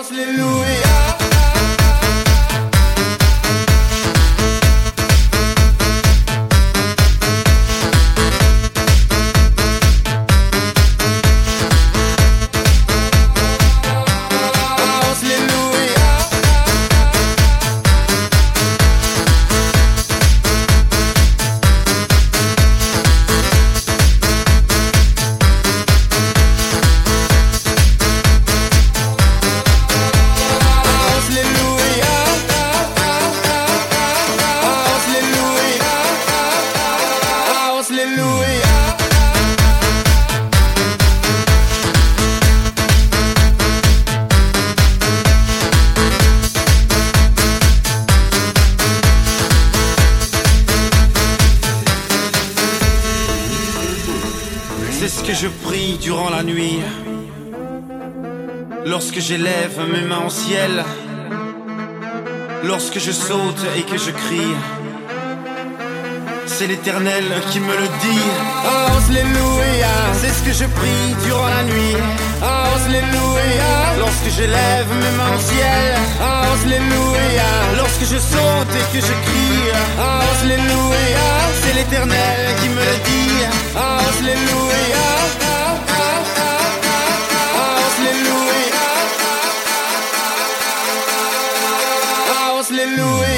C'est ce que je prie durant la nuit, lorsque j'élève mes mains au ciel, lorsque je saute et que je crie. C'est l'Éternel qui me le dit. Alléluia. C'est ce que je prie durant la nuit. Alléluia. Lorsque j'élève mes mains au ciel. Alléluia. Lorsque je saute et que je crie. Alléluia. C'est l'Éternel qui me le dit. Alléluia. Alléluia. Alléluia.